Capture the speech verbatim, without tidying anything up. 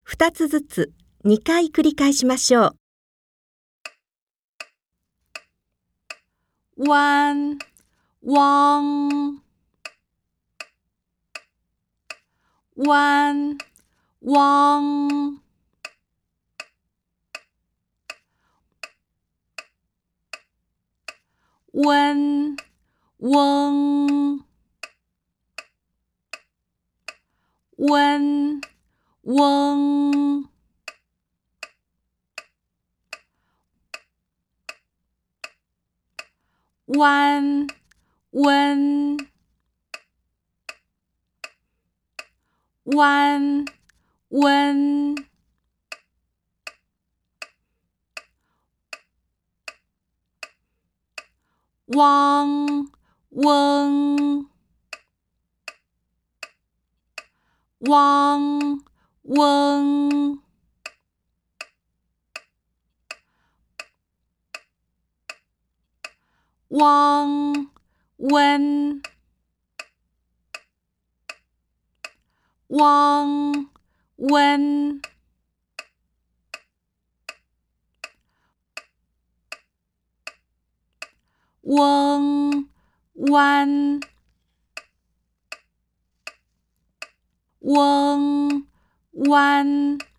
二つずつにかい繰り返しましょう。弯、汪、弯、汪、温、翁、温、翁、弯、温、弯、温、汪、翁、汪、翁、汪、温、汪、温、翁、弯、翁、弯。